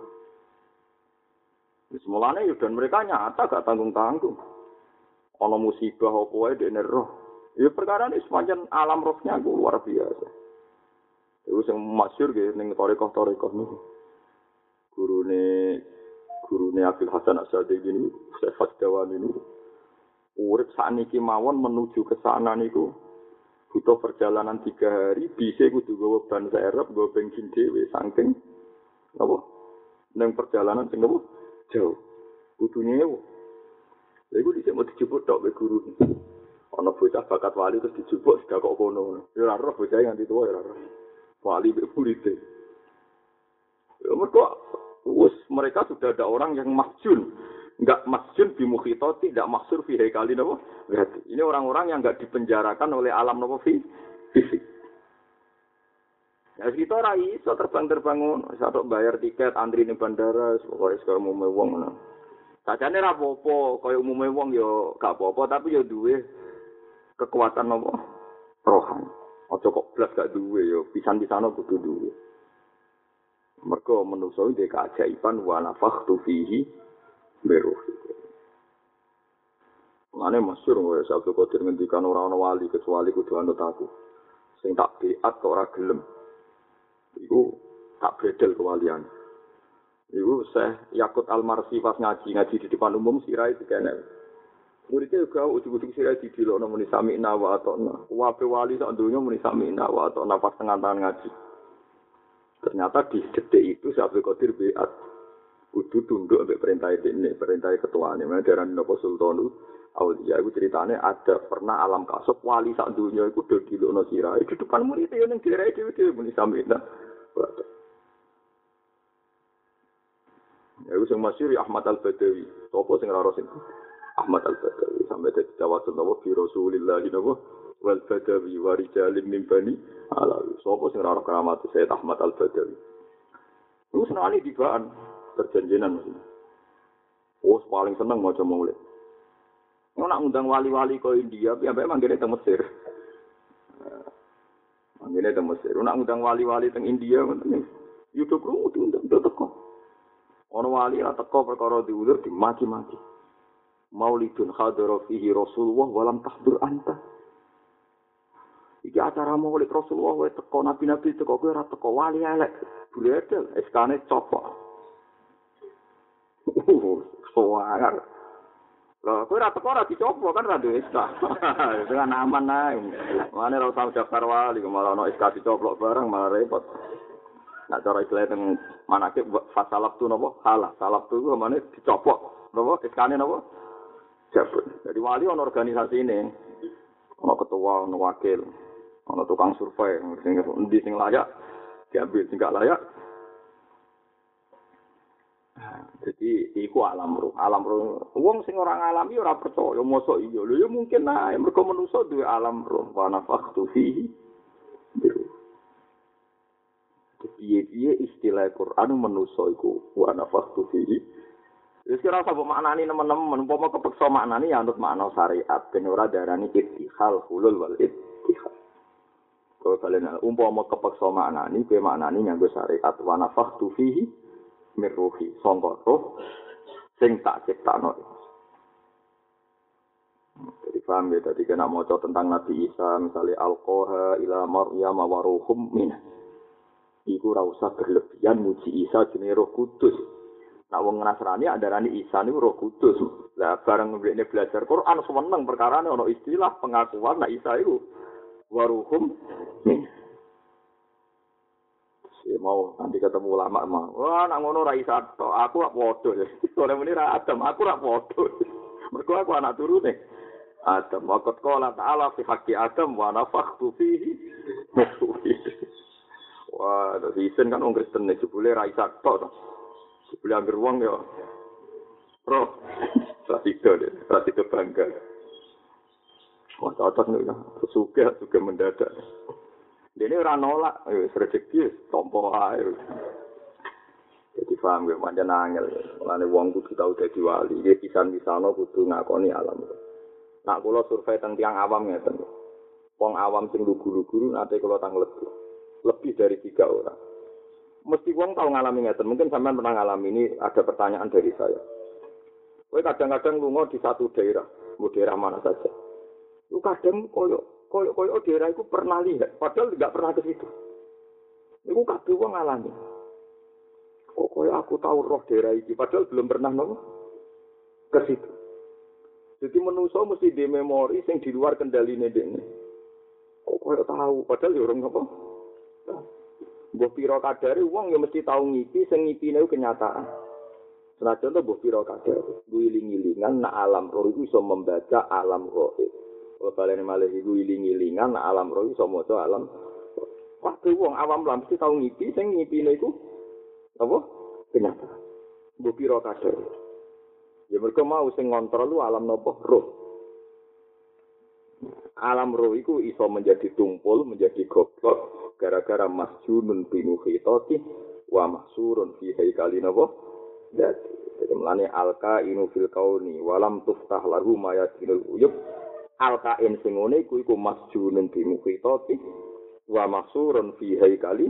Semulane yo dan mereka nyata gak tanggung-tanggung. Ana musibah apa wae dekne roh. Ya perkara ini semacam alam rohnya luar biasa. Itu sing masyhur nggih ning tarekah-tarekah niku. Gurune Abdul Hasan As-Sadiq ini, Syekh Fadawani niku. Urip sakniki mawon menuju ke sana niku butuh perjalanan 3 hari, bisa kudu gawa ban serep, gawa bensin dhewe saking napa? Ning perjalanan sing napa? Jauh. Kudu nyewa. Lha iku dhisik mau dijupuk tok be guru. Ana bocah bakat wali terus dijupuk sudah kok kono. Ya ora roh bocah nganti tuwa ya ora roh. Wali be murid. Ya mereka sudah ada orang yang masjun. Enggak masjun bi mukhitati, tidak maksur fi haikali napa? Berarti ini orang-orang yang enggak dipenjarakan oleh alam napa fisik. Ya kita ora iso terbang-terbang ngono, iso bayar tiket antri ning bandara, pokoke sekarang mau wong ngono. Sajane ra apa-apa, kaya umume wong ya gak apa-apa, tapi ya duwe kekuatan apa? Rohani. Aja kok blas gak duwe ya, pisan-pisane kudu duwe. Mergo manusa iki keajaiban wa nafakhtu fihi beruhi. Mane masyhur wae Abdul Qadir ngendikan ora ana wali kecuali kudu anut aku. Sing tak biat kok ora gelem. Iku tak bedel kewalian. Iku Syekh Yakut Al-Marsi pas ngaji di depan umum sirai dikene. Muridnya juga ujug-ujug sirai didilokno muni sami'na wa ata'na. Wabe wali sak donya muni sami'na wa ata'na pas tengah tangan ngaji. Ternyata di detik itu Syekh Abdul Qadir biat kudu tunduk ambek perintah ini, perintah ketuane. Mana darane napa Sultanul Auliya iku ceritane ada pernah alam kasop wali sak donya iku do dilokno sirai di depan muridnya ning sirai dhewe muni sami'na wa ata'na. Ya wis masyhur Ahmad Al-Badawi. Sopo sing ora sing Ahmad Al-Badawi sampai dadi tawasul nawa fi Rasulillah nawa wal Badawi wa rijalin min bani Alawi. Sopo sing ora keramat Sayyid Ahmad Al-Badawi. Terus nani dibaan perjanjian mesti. Oh, paling seneng maca maulid. Ngono ngundang wali-wali ke India, piye manggene teng Mesir. Manggene teng Mesir. Nak ngundang wali-wali teng India ngoten. YouTube ku diundang teko. Ono wali ora teko perkara diulur dimaki-maki. Maulidun hadara fihi Rasulullah walam tahdur anta. Iki acara maulid Rasulullah wae teko nabi-nabi teko kowe ora teko wali elek. Buledel eskane copok. Suwangar. Loh, kowe ora teko ora dicoba kan ra duwe SK. Dengan aman ae. Mane ora usah daftar wali, malah ono SK dicoplok bareng malah repot. Nek cara istilah teng manake fasalab tu napa? Halah. Salab tu ku mane dicopok. Napa? SK-ne napa? Jabut. Jadi wali ono organisasi ini. Ono ketua, ono wakil, ono tukang survei, sing layak diambil, sing gak layak. Jadi iku alam roh. Alam roh. Wong sing ora ngalami ora percaya, mosok iya. Lho ya mungkin ae mergo manusa duwe alam roh. Wa nafakhtu fihi. Piye-piye istilah Quran manusa iku wa nafakhtu fihi. Wis kira apa maknane nemen-nemen, umpama kepeksa maknane ya anut makna syariat, ben ora darani ittihal hulul wal ittihal. Kalau kalian umpama kepeksa maknane, kowe maknane nganggo syariat wa nafakhtu fihi mirruhi sangka roh sing tak ciptakno. Jadi paham ya, tadi kena maca tentang Nabi Isa, misalnya alqaha ila maryam wa ruhum min. Iku ora usah berlebihan muji Isa jenenge Roh Kudus. Nek wong Nasrani andarane Isa niku Roh Kudus. Lah bareng ngene belajar Quran seneng perkarane ana istilah pengakuan nek Isa iku wa ruhum min. Ya mau nanti ketemu ulama mah. Wah, nak ngono ra isa tok. Aku rak padha. Sore muni ra Adam, aku rak padha. Mergo aku anak turune Adam. Waqat qala ta'ala fi haqqi Adam wa nafakhtu fihi. Wah, terus isen kan wong Kristen nek jebule ra isa tok. Jebule anggere wong ya. Roh. Rasido bangga. Wah, cocok nih. Suka mendadak. Dene ora nolak, wis rezeki tompo ae. Jadi paham ya, pancen angel. Mulane wong kudu tau dadi wali. Iki pisan-pisano kudu ngakoni alam. Nak kula survei teng tiyang awam ngeten. Wong awam sing lugu-lugu nate kula tang lebih dari 3 orang. Mesti wong tau ngalami ngeten. Mungkin sampean pernah ngalami ini, ada pertanyaan dari saya. Kowe kadang-kadang lunga di satu daerah, mau daerah mana saja. Lu kadang koyo daerah itu pernah lihat, padahal tidak pernah ke situ. Itu kabeh wong ngalami. Kok koyo aku tahu roh daerah iki, padahal belum pernah ke situ. Jadi manusa mesti di memori sing di luar kendaline dekne. Kok koyo tahu, padahal ya orang apa? Mbah pira kadare wong ya mesti tahu ngipi, sing ngipine kenyataan. Senajan to mbah pira kadare, wiling-wilingan nak alam roh itu iso membaca alam gaib. Kalau kalian malah iku iling-ilingan alam roh iso maca alam. Waktu wong awam lah mesti tau ngipi, sing ngipine iku apa? Kenyataan. Mbok pira kadar. Ya mergo mau sing ngontrol lu alam napa? Roh. Alam roh iku iso menjadi tumpul, menjadi goblok gara-gara masjunun binukhitati wa mahsurun fi haikalin apa? Jadi melane alka inu fil kauni walam tuftah lahu mayatinul uyub. Al-Kain sing ngene iku masjunun bi mukhitati wa mahsurun fi haikali.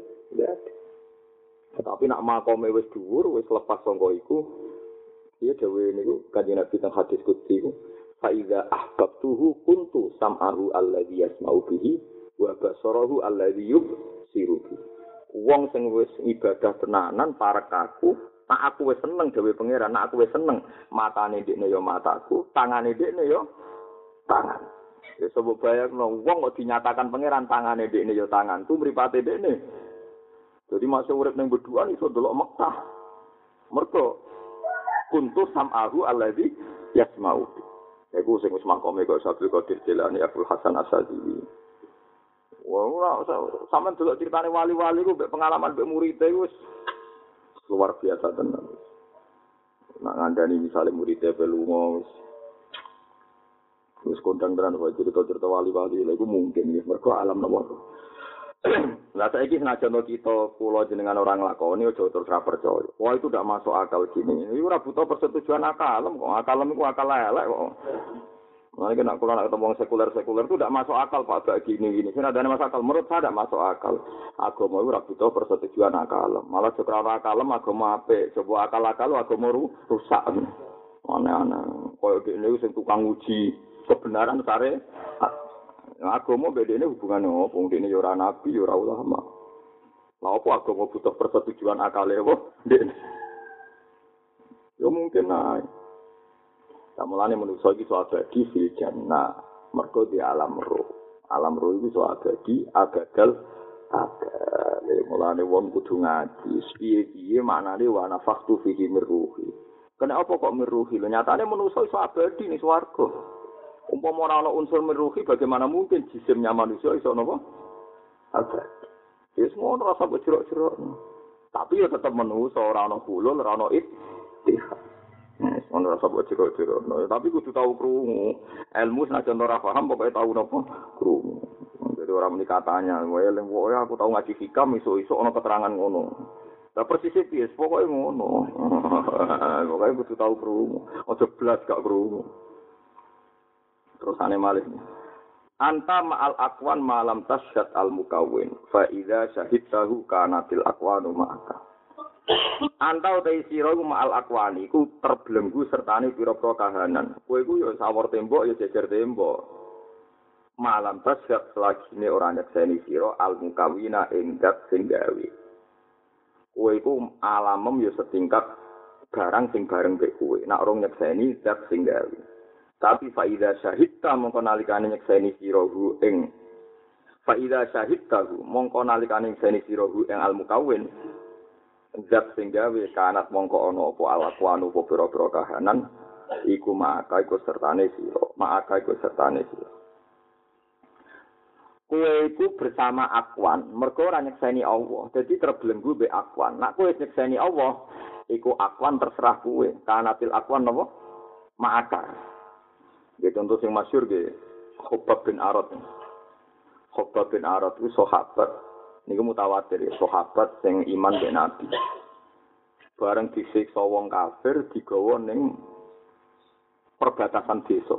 Tetapi nak makome wis dhuwur, wis lepas sangka iku, ya dawuh niku Kanjeng Nabi teng hadis qudsi iku, fa iza ahbabtuhu kuntu sam'ahu alladzi yasma'u bihi wa basarahu alladzi yubsiru bihi. Wong sing wis ibadah tenanan parek aku, nak aku wis seneng dawuh pangeran, nak aku wis seneng, matane ndekne ya mataku, tangane ndekne ya tangan. Ya sebab bayangno wong kok dinyatakan pangeran tangane dekne ya tanganku mripate dekne. Jadi masuk urip ning beduan iso delok Mekah. Mergo kuntu sam'ahu alladzi yasma'u. Iku sing wis makome kok Abdul Qadir Jilani Abdul Hasan Asyadzili. Wah, sampean delok critane wali-wali ku mbek pengalaman mbek murid e wis luar biasa tenan. Nak ngandani misale murid e lunga wis kondang tenan kok cerita-cerita wali-wali lha iku mungkin ya mergo alam nomor. Lah saiki senajan kita kula jenengan orang lakoni aja terus ra percaya. Wah itu ndak masuk akal gini. Iku ora butuh persetujuan akal kok. Akal iku akal elek kok. Nah, nek kula nak ketemu sekuler itu ndak masuk akal Pak gak gini. Sing adane masuk akal menurut saya ndak masuk akal. Agama iku ora butuh persetujuan akal. Malah jek ora akal agama apik. Coba akal-akal agama rusak. Aneh-aneh. Koyo dene sing tukang uji kebenaran sare agama bedene hubungane opo dene ya ora nabi ya ora ulama. Lah opo agama butuh persetujuan akale opo dene. Ya mungkin ae. Samulane manusa iki iso abadi fil jannah. Mergo di alam roh. Alam roh iku iso abadi, agagal mulane wong kudu ngaji. Piye-piye maknane wa nafaktu fihi mirruhi. Kena apa kok mirruhi? Lho nyatane manusa iso abadi ning swarga. Umpama ora ana unsur mirruhi bagaimana mungkin jisimnya manusia iso napa? Abadi. Wis ngono rasa jerok-jerok. Tapi ya tetep manusa ora ana bulul, ora ana ittihad. Ono rasa jerok-jerok. Tapi kudu tau krungu. Ilmu senajan ora paham pokoke tau napa? Krungu. Jadi orang ini katanya, aku tahu ngaji hikam, iso-iso ono keterangan ngono. Lah persis piye, pokoke ngono. Pokoke kudu tau krungu. Aja blas gak krungu. Terusane malih. Anta ma'al aqwan malam tasyad al mukawwin fa idza syahidtahu kanatil aqwanu ma'aka. Anta utai sira iku ma'al aqwani iku terbelenggu sertane pira-pira kahanan. Kowe iku ya sawur tembok ya jejer tembok. Malam tasyad selagine ora nyekseni sira al mukawwina ing dat sing gawe. Kowe iku alamem ya setingkat barang sing bareng mek kowe. Nek ora nyekseni dat sing gawe. Tapi faida syahidta mongko nalikane nyekseni sira hu ing faida syahidta mongko nalikane nyekseni sira hu ing al mukawwin zat sing gawe kanat mongko ana apa alakwanu apa pira-pira kahanan iku maka iku sertane sira kowe iku bersama akwan mergo ora nyekseni Allah dadi terbelenggu be akwan nek kowe nyekseni Allah iku akwan terserah kowe kanatil akwan napa ma'aka. Ya contoh yang masyhur ge Khabbab bin Arad. Khabbab bin Arad itu sahabat niku mutawatir ya, sahabat sing iman be Nabi. Bareng disiksa wong kafir digawa ning perbatasan desa.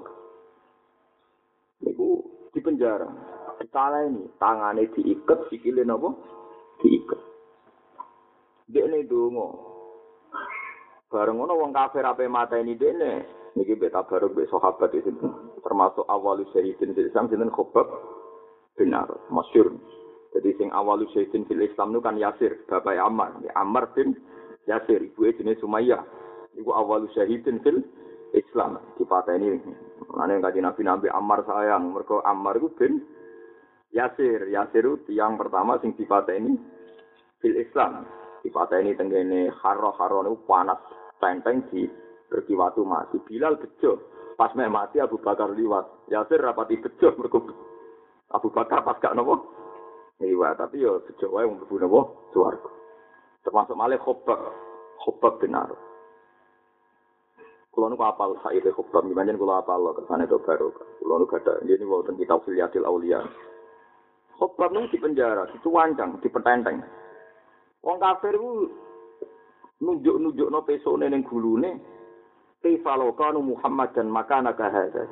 Niku di penjara. Ditaleni, tangane diiket, sikile napa? Diiket. Dekne donga. Bareng ngono wong kafir ape mateni dekne. Niki beta bareng be sahabat itu termasuk awalus syahidin fil Islam sinten Khabbab bin Arad masyhur. Jadi sing awalus syahidin fil Islam itu kan Yasir, bapak Ammar. Ammar bin Yasir, ibuke jenenge Sumayyah. Iku awalus syahidin fil Islam. Dipateni ana kanjeng Nabi Ammar sayang, mergo Ammar iku bin Yasir. Yasir itu yang pertama sing dipateni fil Islam. Dipateni tenggene Harra niku panas tenteng di berkiwatu mati. Bilal bejo. Pas mati Abu Bakar liwat. Yasir rapati bejo mergo Abu Bakar pas gak napa. Liwat tapi yo bejo wae wong mlebu napa swarga. Termasuk malih Khabbab bin Arad. Kulo niku apal saire Khabbab pancen kulo apal kersane do baru. Kulo niku gadah ngene wonten kitab Filyatil Auliya. Khabbab niku di penjara, dicuwancang, dipententeng. Wong kafir ku nunjuk-nunjukno pesone ning gulune. Kifalokanu Muhammad dan makana kahada.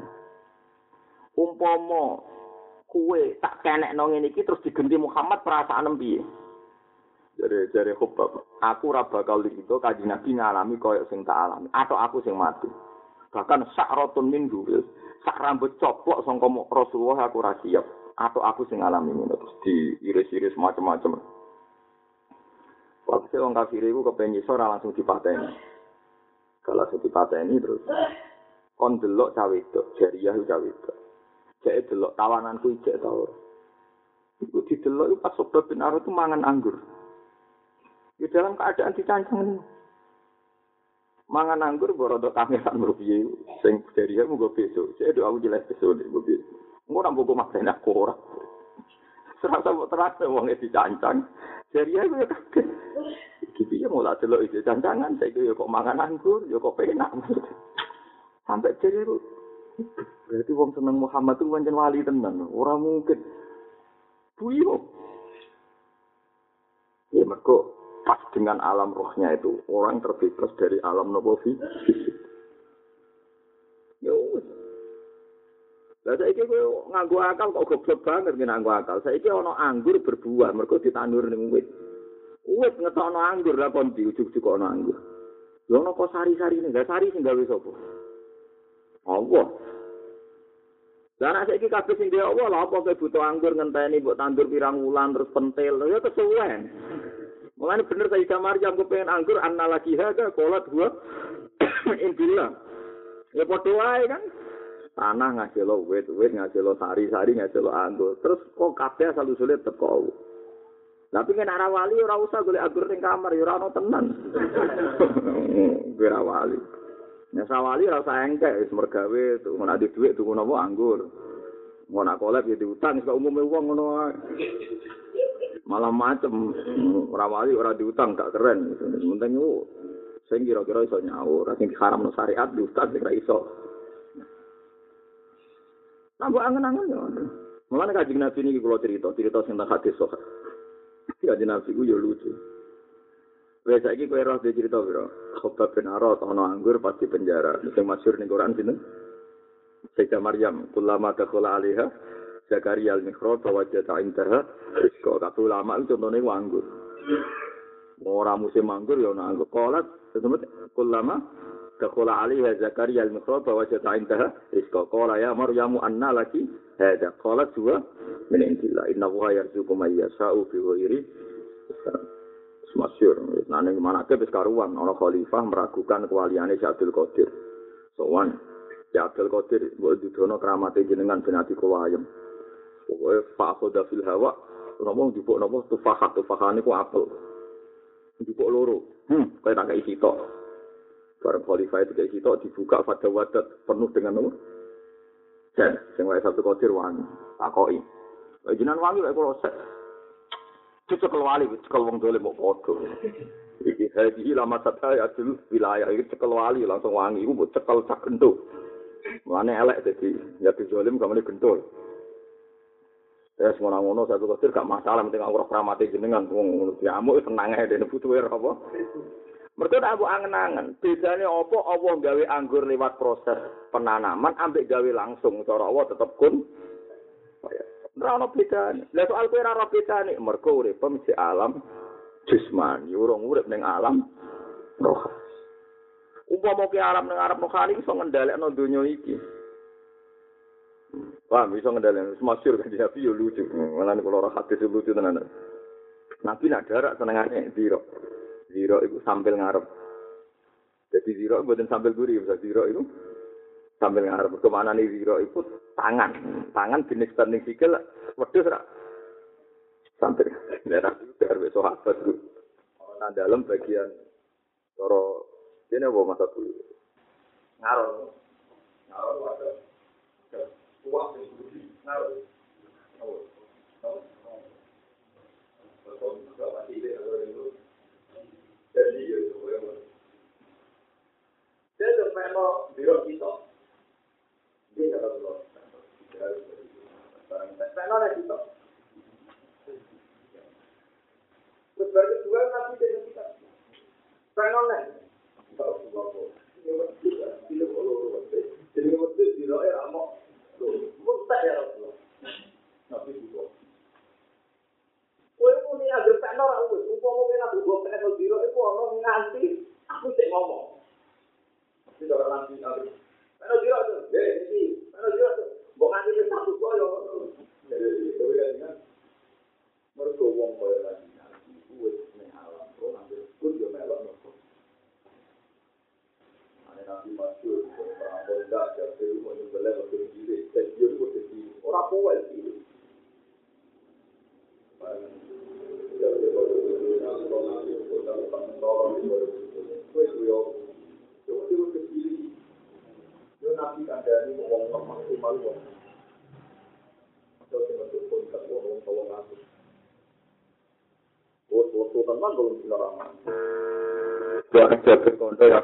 Umpama kuwe tak kenekno ngene iki terus digenti Muhammad perasaan piye? Jare Khabbab, aku ora bakal dikitu Kanjeng Nabi ngalami kaya sing tak alami atau aku sing mati. Bahkan sakratun min duril, sak rambut coplok sangka Rasulullah aku ora siap atau aku sing ngalami ngono terus diiris-iris macam-macam. Waktu wong kafir iku kepengin iso ora langsung dipateni. Kalau sing dipateni terus kon delok cawe wedok, jariah cawe wedok. Jek delok tawananku ijek ta ora. Iku didelok iku pas Khabbab bin Arad itu mangan anggur. Di dalam keadaan dicancang. Mangan anggur borodo kameran rupiye sing jariah mung besok. Jek do aku jelas besok niku piye. Engko nang buku makane aku ora. Serasa terasa wong dicancang. Jariah iku ya kaget. Iki piye mulai delok iki cancangan saiki ya kok mangan anggur ya kok penak. Sampai jadi itu berarti wong seneng Muhammad itu pancen wali tenan, ora mungkin. Buyo. Ya mergo pas dengan alam rohnya itu orang terbebas dari alam nopo fisik. Yo. Lah saiki kowe nganggo akal kok goblok banget nganggo akal. Saiki ana anggur berbuah mergo ditandur ning wit. Wis ngetokno anggur lah kon diujuk-ujuk ana anggur. Lha ono kok sari-sarine, enggak sari sing gawe sapa? Allah. Lah nek saiki kabeh sing dhewe Allah lha apa kowe butuh anggur ngenteni mbok tandur pirang wulan terus pentil. Ya kesuwen. Mulane bener Sayyidah Maryam kepengen anggur lagi hada qolat gua indillah. Ya padha wae kan. Tanah ngajelo wit ngajelo sari ngajelo anggur. Terus kok kabeh asal usule teko. Tapi nek ora wali ora usah golek anggur ning kamar ya ora ono tenan. Ora wali. Nek sawali ora usah engkek wis mergawe ngono ade dhuwit tuku napa anggur. Ngono kolep ya diutang kok umume wong ngono wae. Malah macem ora wali ora diutang gak keren. Penting yo sing kira-kira iso nyaur, sing haramno syariat diutang sing ra iso. Tambah angen-angen yo. Mulane Kanjeng Nabi niki kula cerita sing tak hadis sok. Kanjeng Nabi ku yo lucu. Wes saiki kowe ora cerita piro? Khobab bin Arad ana anggur pas di penjara. Sing masyhur ning Quran sinten? Sayyidah Maryam, kullama dakhala 'alaiha Zakaria al-Mikhrab wajada indaha rizqa. Kabeh ulama itu contone anggur. Ora musim anggur ya ana anggur. Qalat sebut kullama dakhala 'alaiha Zakaria al-Mikhrab wajada indaha rizqa. Qala ya Maryamu anna laki hadha. Qalat huwa min indillah. Innahu yarzuqu man yasha'u bi ghairi hisab. Masyhur, nang manake wis karuan ana khalifah meragukan kewaliane Syekh Abdul Qadir. Sowan Syekh Abdul Qadir mbok didono kramate jenengan ben ati kula ayem. Pokoke fa'khudha fil hawa, ngomong dipuk napa tufahane ku apel. Dipuk loro. Kaya tak kei sitok. Bareng khalifah itu kei sitok dibuka fadawadat penuh dengan apa? Dan sing wae Abdul Qadir wani takoki. Jenengan wangi lek kula sek. Cekel wali, cekel wong dole mau podo. Iki haji lama sataya adil wilayah iki cekel wali langsung wangi, iku mbok cekel sak gentuk. Mulane elek dadi ya dizolim gak muni gentul. Wes ngono-ngono satu kecil gak masalah penting ora kramate jenengan wong ngono diamuk tenang ae dene butuhe apa. Mergo tak aku angen-angen, bedane apa Allah gawe anggur lewat proses penanaman ambek gawe langsung cara Allah tetep kun. Ora ono bedane. Lah soal kowe ora ono bedane, mergo urip mesti alam jismani, urung urip ning alam roh. Umpama ke alam ning arep rohani iso ngendhalekno donya iki. Wah, iso ngendhalekno masyhur kan Nabi yo lucu. Malah nek ora hadis lucu tenan. Nabi nak darak senengane ziro. Ziro iku sambil ngarep. Jadi ziro mboten sambil guri, bisa ziro itu sambil ngarep. Kemana nih ziro itu tangan jenis banding sikil wedhus ra sampai daerah itu biar besok sahabat itu nah dalam bagian cara ini apa masa dulu ngaron ada kuah yang budi ngaron jadi dia sampai mau biro kita dia nggak tahu Saya lagi tak. Sebagai dua nabi dengan kita. Saya lagi. Tahu apa? Ini betul. Tidak boleh. Jadi betul tidak ya amak. Mustahil ya Rasulullah. Nabi itu. Kau ini agak tenor aku. Umpama kena dua tenor zero itu orang nganti aku cek ngomong. Tidak orang nanti nabi. Tenor zero tu. Ini. Tenor zero tu. Bukan itu satu kau yang. Jadi itu kan mereka wong kaya lagi kuwi ning alam kok ambil kun yo melok mergo ana nabi masyhur orang bonda jadi mau nyembelih waktu diri dan dia itu jadi ora kuat iki nabi kandhani wong maksimal wong terus untuk pun tak wong tolong aku. Waktu teman belum dilarang. Jangan jaga kondo ya.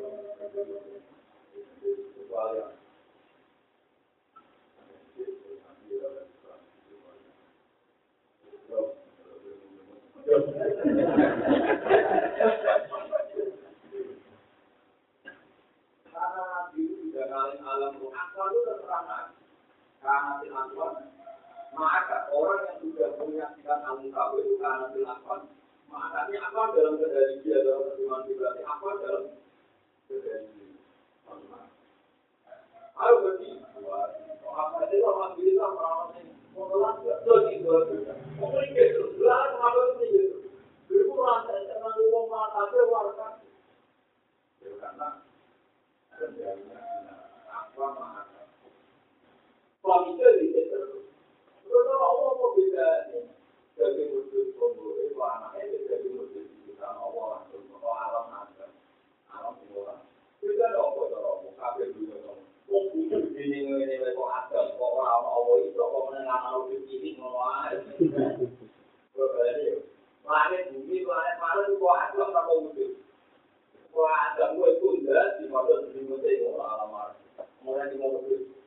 Maka orang yang sudah menyaksikan al-mukawi itu karena dilakukan. Makanya apa dalam kendali dia dalam perjuangan berarti apa dalam kendali dia. Ayo berarti apa itu alhamdulillah orang ini menolak lagi juga. Mungkin itu belah apa itu. Dulu rasa karena uang mata ada warga. Karena kendalinya apa maka. Kalau itu dikatakan kalau Allah mau beda ni, jadi murid pembuat itu anaknya jadi murid kita Allah langsung ke alam naga, alam semua. Kita apa cara kafir juga dong. Mungkin ini kok ada kok orang Allah itu kok menengah malu cilik ngono. Berarti langit bumi langit malu kok ada apa wujud. Kok ada gue tunda di mana di mana itu alam. Mulai di mana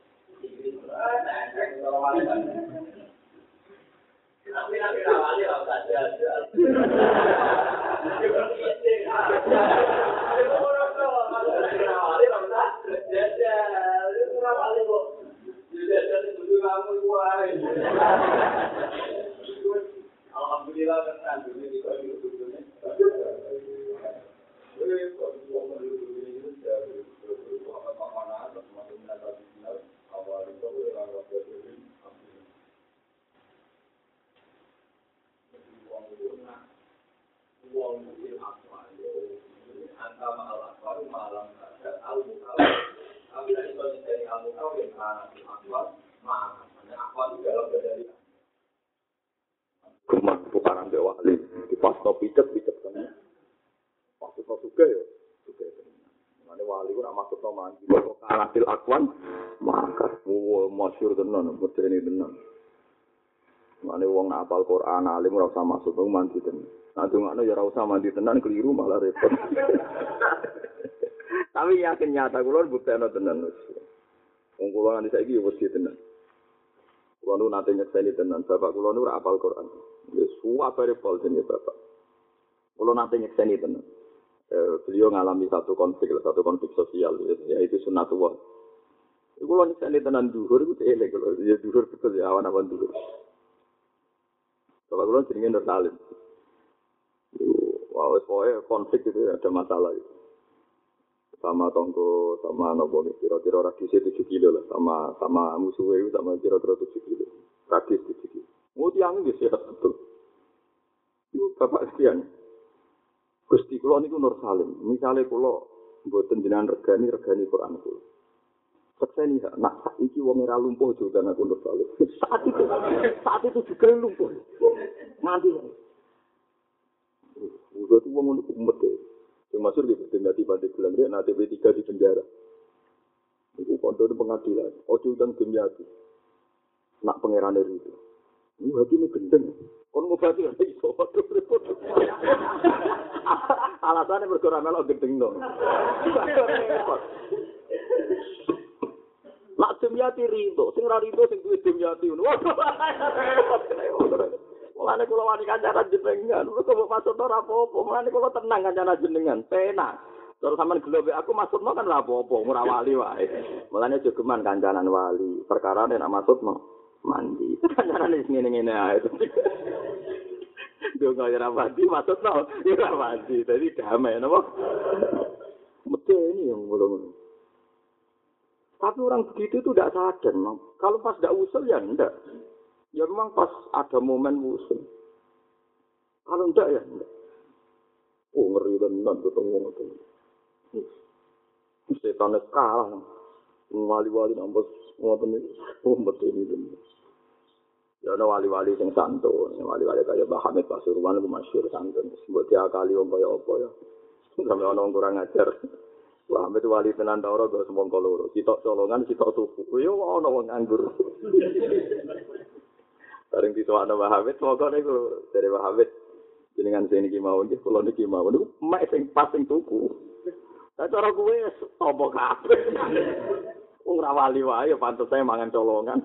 tapi nanti awalnya nggak usah jalan. Alhamdulillah kan dunia di kau hidup dunia. Gemah tukaran be wali di pas pijet kan. Maksudnya juga ya, juga. Mane wali ku ora maksudno mandi, kok karatil akwan maka masyhur tenan, medeni tenan. Mane wong nak hafal Quran alim ora usah maksud mandi tenan. Nah dongakno ya ora usah mandi tenan keliru malah repot. Tapi yakin nyata kula buktekno tenan. Wong kula nganti saiki wis tenan. Kula nu nate nyekseni tenan, bapak kula nu ora hafal Quran. Wis suwabare pol jenenge bapak. Kula nate nyekseni tenan. Beliau ngalami satu konflik sosial, yaitu sunatullah. Iku lho nyekseni tenan dhuwur iku elek lho, ya dhuwur betul ya awan-awan dhuwur. Kalau kula jenenge Nur Salim. Wah, pokoknya konflik itu ada masalah itu. Sama tonggo, sama nopo kira-kira radiusnya 7 kilo lah, sama musuhnya itu sama kira-kira 7 kilo. Radius 7 kilo. Mau tiang ini sehat betul. Itu bapak sekian. Gusti kula niku Nur Salim. Misale kula mboten jenengan regani Quran kula. Sekseni nak iki wong ora lumpuh juga aku Nur Salim. Saat itu juga lumpuh. Mati. Udah tuh wong untuk umat deh. Yang masuk di berarti pada bulan dia nanti B3 di penjara. Itu kontor pengadilan. Ojo dan gemyati. Nak pangeran itu. Ini hati ini gendeng. Kon ngobati kan iso repot. Alasannya berkurang melok gendeng dong. Nak gemyati rido, sing ra rido sing duwe gemyati ngono. Mulane kula wani kancanan jenengan, kok maksud ora apa-apa, mulane kula tenang kancanan jenengan, penak. Terus sampean gelobe aku maksudno kan ora apa-apa, ora wali wae. Mulane jogeman kancanan wali, perkara nek maksudno mandi. Kancanan wis ngene-ngene ae. Yo kaya ora mandi maksudno, ya ora mandi. Dadi damai napa? Medeni yang belum. Tapi orang begitu itu tidak sadar, Mang. Kalau pas tidak usul ya enggak. Ya memang pas ada momen usul. Kalau enggak ya enggak. Oh ngeri tenan ketemu ngoten. Setan kalah. Wali-wali nambah ngoten iki. Oh betul ini. Ya ana wali-wali sing santun, wali-wali kaya Mbah Hamid Pasuruan ku masyhur santun. Mbok diakali wong kaya apa ya. Sampe ana wong kurang ajar. Wah, itu wali tenan ta ora kok semongko loro. Sitok colongan, sitok tuku. Yo ana wong nganggur. Bareng ditokno Mbah Hamid, monggo niku dari Mbah Hamid jenengan sing iki mawon nggih kula niki mawon niku mek sing pas sing tuku. Lah cara kuwe apa kabeh. Wong ra wali wae ya pantes ae mangan colongan.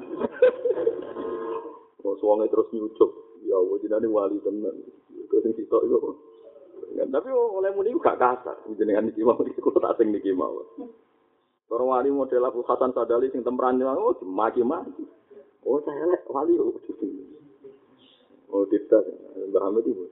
Terus wonge terus nyucuk. Ya Allah jenenge wali tenan. Kok sing sitok iku. Tapi oleh muni gak kasar. Jenengan iki mau iku tak sing niki mau. Para wali model Abu Hasan Sadali sing temperan oh maki-maki. Oh saya elek wali oh. Oh tidak, Mbah Hamid itu.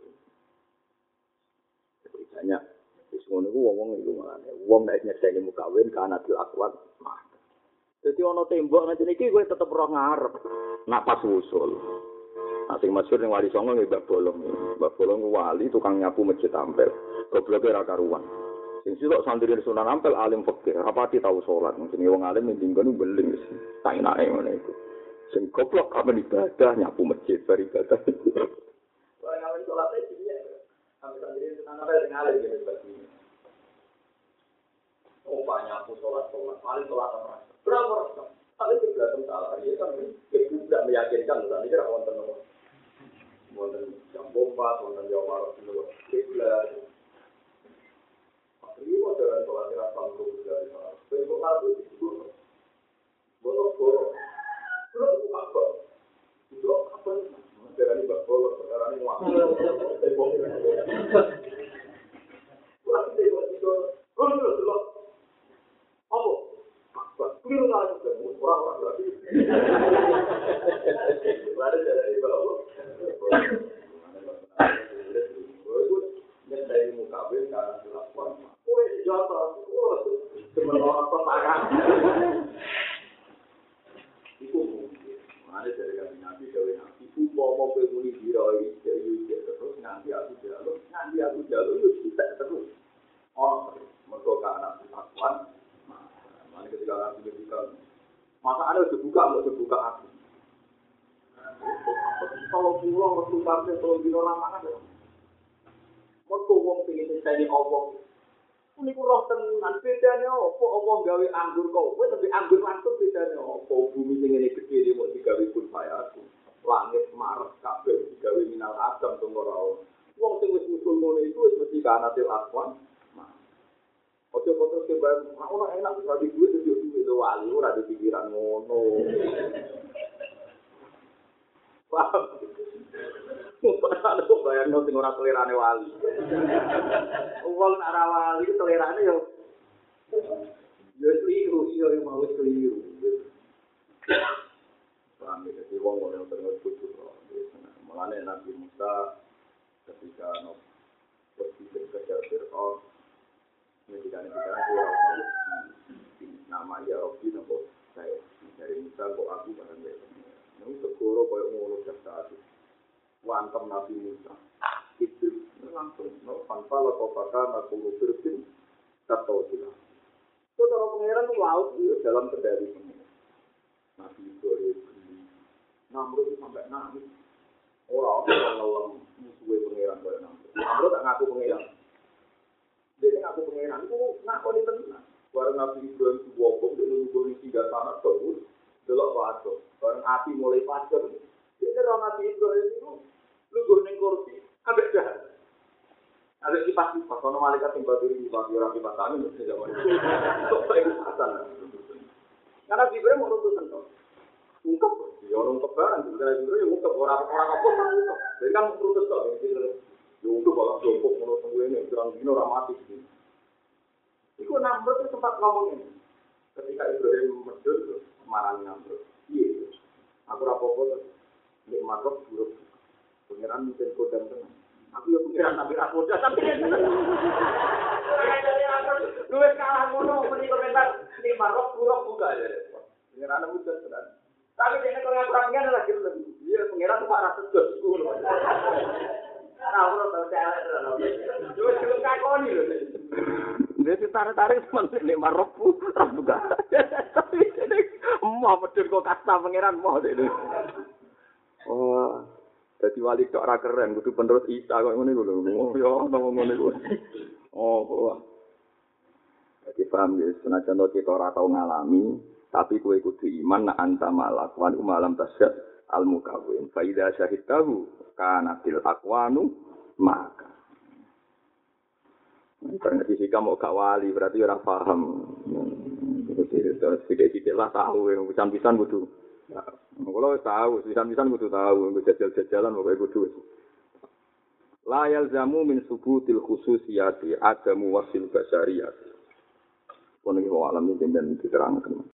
Banyak wis ngono ku wong iku malah. Wong nek nyekseni mukawin kana dilakukan. Dadi ana tembok ngene iki kowe tetep roh ngarep. Nak pas usul. Asing masyhur ning Wali Songo nggih Mbak Bolong. Mbak Bolong wali tukang nyapu masjid Ampel. Gobloke ra karuan. Sing sitok santri Sunan Ampel alim fikih, rapati tau salat. Jenenge wong alim ning dinggon beling wis. Tak enake ngene iku. Sing goblok kapan ibadah nyapu masjid beribadah. Wong ngawen salat iki ya. Sampai santri Sunan Ampel sing alim gitu bagi. Oh banyak aku salat paling salat apa? Berapa orang? Tapi tidak salah. Ini kan tidak meyakinkan. Tadi kira wonten jam bomba, wonten jam marah dulu. Kiblat. Ini modern sholat kira sanggup dari sana. Bentuk lalu itu botol. Belum buka kok. Itu apa? Sekarang ini botol. Sekarang ini waktu. Apa? Keliru lagi orang-orang berarti. Ada dari bawah. Dari mukabel karena dilakukan. Kue jatuh, sebenarnya petangan. Itu mungkin. Ada dari kami nabi, dari nabi. Itu mau pemuli diroi, jadi terus nanti aku jalur, itu bisa terus. Oh, mereka karena dilakukan. Nanti ketika nanti dibuka, masa ada dibuka aku. Kalau pulang waktu sampai kalau di orang mana deh? Mereka wong pengen mencari Allah. Ini kurang tenan bedanya apa? Allah gawe anggur kowe tapi anggur langsung bedanya apa? Bumi sing ngene gede iki mau digawe pun aku. Langit maret kabeh digawe minal adam to ora. Wong sing wis musul ngono iku wis mesti kanatil aswan. Ojo kotor ke bae, ora enak bisa di duit itu wali ora di pikiran ngono. Paham? Padahal kok bayangno sing ora selerane wali. Wong nek ora wali selerane yo keliru, yo mau keliru. Paham ya, jadi wong ora terus putus. Mulane Nabi Musa ketika pergi ke Fir'aun ketika nama ya Robi nopo saya dari Musa kok aku barang dia. Nung segoro koyo ngono jasa. Wantem Nabi Musa. Itu langsung no panpala kopaka nakulu firsin kata sila. Saudara pangeran laut itu dalam kendali pangeran. Nabi Ibrahim Namrud sampai nangis. Orang ngelam musuhnya pangeran koyo Namrud. Namrud tak ngaku pangeran. Jadi ngaku pangeran itu ngaku di tenang. Barang Nabi Ibrahim itu wabong, dia nunggu di 3 sana terus, delok padha. Barang api mulai padam, dia orang Nabi Ibrahim itu nunggu ning kursi, ambek jahat. Ada kipas-kipas, kalau malaikat yang batu ini dipakai orang kipas angin, itu tidak boleh. Itu keikhlasan. Karena Nabi Ibrahim mau nuntut sentuh. Ungkap, ya orang ungkap barang, Nabi Ibrahim ungkap, orang-orang apa pun ungkap. Jadi kan nuntut kok, ya ungkap kalau jongkok, menurut tunggu ini, gerang-gini orang mati. Iku Namrud itu sempat ngomong ini. Ketika Ibrahim medhur marani Namrud. Iya. Aku rapopo nek makruf buruk. Pangeran mungkin kodam tenan. Aku ya pangeran tapi ra kodam tapi. Luwes kalah ngono muni komentar nek makruf buruk buka ya. Pangeran mudah tenan. Tapi dene kok ngapurannya adalah gitu. Iya pangeran kok ra sedot iku. Ora ora tau elek tenan. Luwes kok kakoni lho. Dia tarik-tarik semenit nek marokku ora buka. Tapi ini mau medhur kok kasta pangeran mau ini. Oh, dadi wali tok ora keren, kudu penerus Isa kok ngene iku lho. Oh ya ngene iku. Oh. Jadi paham ya, senajan kita ora tau ngalami, tapi kowe kudu iman nak anta malak wa umalam tasyad al mukawin. Fa idza syahidtahu kana til aqwanu maka Karena fisika mau gak wali berarti orang paham. Terus tidak lah tahu yang pisan-pisan kudu. Kalau tahu, pisan-pisan kudu tahu, kudu jajal-jajalan pokoknya kudu. La yalzamu min subutil khususiyati adamu wasil basyariyati. Pun iki alam iki ben diterangkan.